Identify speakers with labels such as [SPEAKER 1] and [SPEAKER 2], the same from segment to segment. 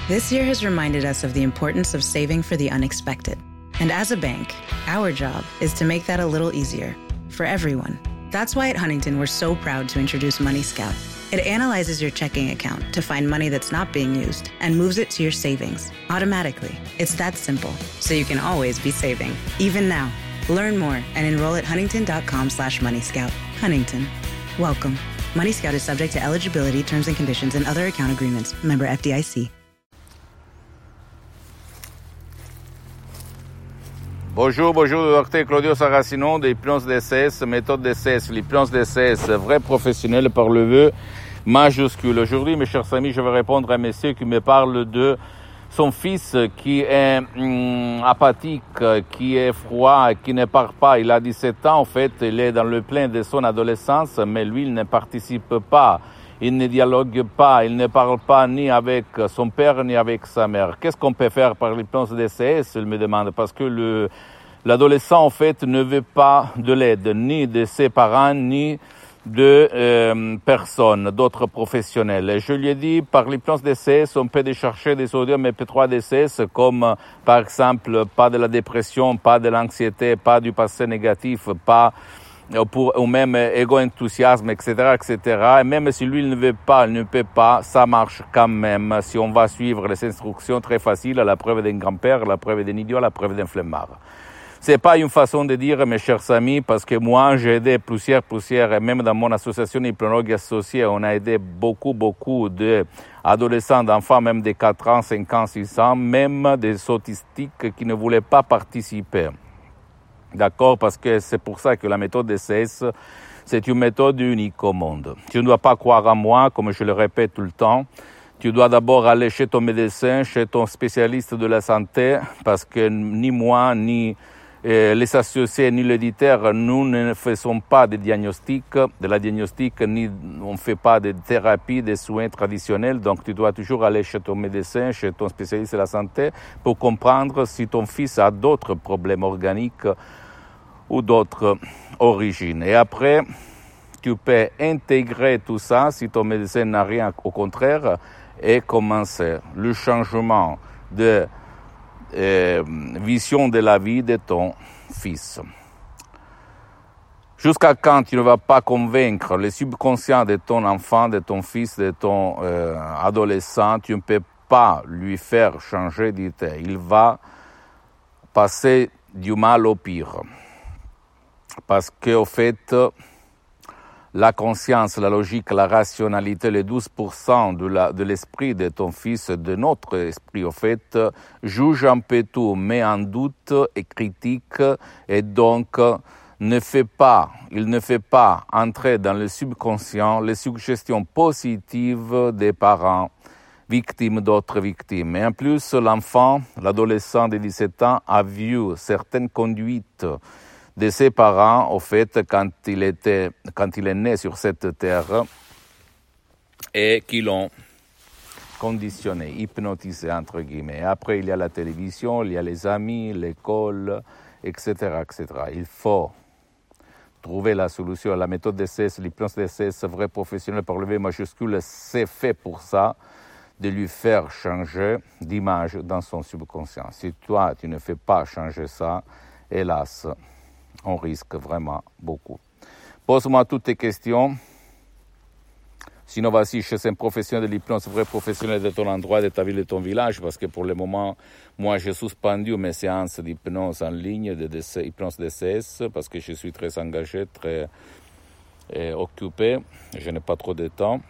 [SPEAKER 1] This year has reminded us of the importance of saving for the unexpected. And as a bank, our job is to make that a little easier for everyone. That's why at Huntington, we're so proud to introduce Money Scout. It analyzes your checking account to find money that's not being used and moves it to your savings automatically. It's that simple, so you can always be saving, even now. Learn more and enroll at huntington.com/moneyscout. Huntington. Welcome. Money Scout is subject to eligibility, terms and conditions, and other account agreements. Member FDIC.
[SPEAKER 2] Bonjour, docteur Claudio Saracino de l'hypnose DCS, méthode DCS, l'hypnose DCS, vrai professionnel par le vœu majuscule. Aujourd'hui, mes chers amis, je vais répondre à un monsieur qui me parle de son fils qui est apathique, qui est froid, qui ne parle pas. Il a 17 ans, en fait, il est dans le plein de son adolescence, mais lui, il ne participe pas. Il ne dialogue pas, il ne parle pas ni avec son père ni avec sa mère. Qu'est-ce qu'on peut faire par l'hypnose DCS, il me demande, parce que l'adolescent, en fait, ne veut pas de l'aide, ni de ses parents, ni de personnes, d'autres professionnels. Et je lui ai dit, par l'hypnose DCS, on peut chercher des audios MP3 DCS, comme, par exemple, pas de la dépression, pas de l'anxiété, pas du passé négatif, pas ou même égo-enthousiasme, etc., etc. Et même si lui, il ne veut pas, il ne peut pas, ça marche quand même. Si on va suivre les instructions très faciles, à la preuve d'un grand-père, à la preuve d'un idiot, à la preuve d'un flemmard. C'est pas une façon de dire, mes chers amis, parce que moi, j'ai aidé plusieurs, et même dans mon association Hypnologue Associée, on a aidé beaucoup d'adolescents, d'enfants, même de 4 ans, 5 ans, 6 ans, même des autistiques qui ne voulaient pas participer. D'accord? Parce que c'est pour ça que la méthode DCS, c'est une méthode unique au monde. Tu ne dois pas croire en moi, comme je le répète tout le temps. Tu dois d'abord aller chez ton médecin, chez ton spécialiste de la santé, parce que ni moi, ni les associés, ni l'éditeur, nous ne faisons pas de la diagnostic, ni on ne fait pas de thérapie, de soins traditionnels. Donc, tu dois toujours aller chez ton médecin, chez ton spécialiste de la santé, pour comprendre si ton fils a d'autres problèmes organiques ou d'autres origines. Et après, tu peux intégrer tout ça, si ton médecin n'a rien, au contraire, et commencer le changement de vision de la vie de ton fils. Jusqu'à quand tu ne vas pas convaincre le subconscient de ton enfant, de ton fils, de ton adolescent, tu ne peux pas lui faire changer d'idée. Il va passer du mal au pire. Parce qu'au fait, la conscience, la logique, la rationalité, les 12% de l'esprit de ton fils, de notre esprit, au fait, juge un peu tout, met en doute et critique, et donc il ne fait pas entrer dans le subconscient les suggestions positives des parents victimes d'autres victimes. Et en plus, l'enfant, l'adolescent de 17 ans, a vu certaines conduites de ses parents, au fait, quand il est né sur cette terre, et qui l'ont conditionné, hypnotisé, entre guillemets. Et après, il y a la télévision, il y a les amis, l'école, etc., etc. Il faut trouver la solution. La méthode DCS, l'hypnose DCS, vrai professionnel par le V majuscule, c'est fait pour ça, de lui faire changer d'image dans son subconscient. Si toi, tu ne fais pas changer ça, hélas, on risque vraiment beaucoup. Pose-moi toutes tes questions. Sinon, vas-y chez un professionnel de l'hypnose, vrai professionnel de ton endroit, de ta ville, de ton village, parce que pour le moment, moi, j'ai suspendu mes séances d'hypnose en ligne, de hypnose DCS, parce que je suis très engagé, très occupé, je n'ai pas trop de temps,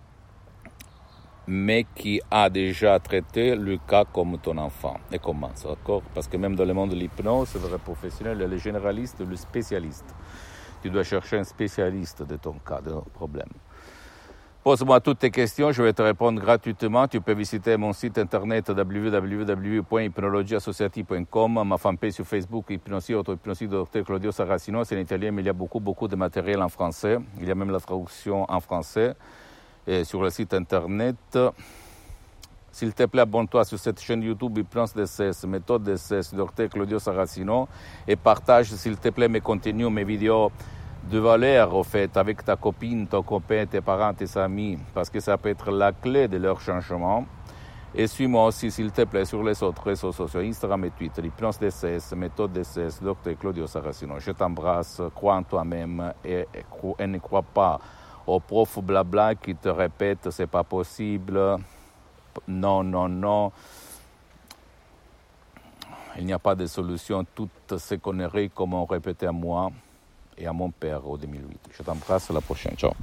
[SPEAKER 2] mais qui a déjà traité le cas comme ton enfant. Et commence, d'accord? Parce que même dans le monde de l'hypnose, le vrai professionnel, le généraliste, le spécialiste. Tu dois chercher un spécialiste de ton cas, de ton problème. Pose-moi toutes tes questions, je vais te répondre gratuitement. Tu peux visiter mon site internet www.hypnologieassociative.com, ma fanpage sur Facebook, Hypnosie, auto-hypnosie de Dr Claudio Saracino. C'est en italien, mais il y a beaucoup de matériel en français. Il y a même la traduction en français. Et sur le site internet, s'il te plaît, abonne-toi sur cette chaîne YouTube Hypnose DCS, méthode DCS, Dr Claudio Saracino, et partage, s'il te plaît, mes contenus, mes vidéos de valeur, au fait, avec ta copine, ton copain, tes parents, tes amis, parce que ça peut être la clé de leur changement. Et suis-moi aussi, s'il te plaît, sur les autres réseaux sociaux, Instagram et Twitter, l'hypnose DCS, méthode DCS, Dr Claudio Saracino. Je t'embrasse, crois en toi-même et ne crois pas aux profs blabla qui te répètent c'est pas possible, non, non, non. Il n'y a pas de solution. Toutes ces conneries comme on répétait à moi et à mon père au 2008. Je t'embrasse, à la prochaine. Ciao.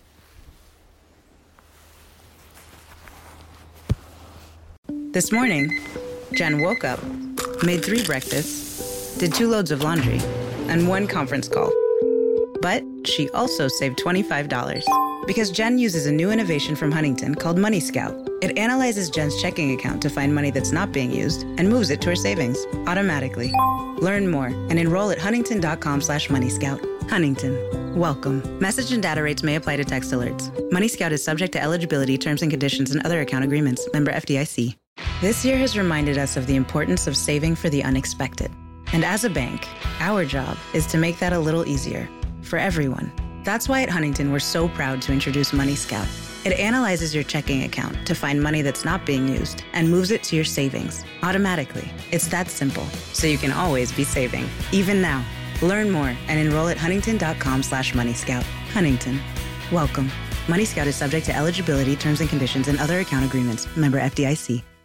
[SPEAKER 1] This morning, Jen woke up, made 3 breakfasts, did 2 loads of laundry, and 1 conference call. But she also saved $25 because Jen uses a new innovation from Huntington called Money Scout. It analyzes Jen's checking account to find money that's not being used and moves it to her savings automatically. Learn more and enroll at huntington.com/moneyscout. Huntington. Welcome. Message and data rates may apply to text alerts. Money Scout is subject to eligibility, terms and conditions, and other account agreements. Member FDIC. This year has reminded us of the importance of saving for the unexpected. And as a bank, our job is to make that a little easier for everyone. That's why at Huntington, we're so proud to introduce Money Scout. It analyzes your checking account to find money that's not being used and moves it to your savings automatically. It's that simple, so you can always be saving, even now. Learn more and enroll at huntington.com/moneyscout. Huntington. Welcome. Money Scout is subject to eligibility, terms and conditions, and other account agreements. Member FDIC.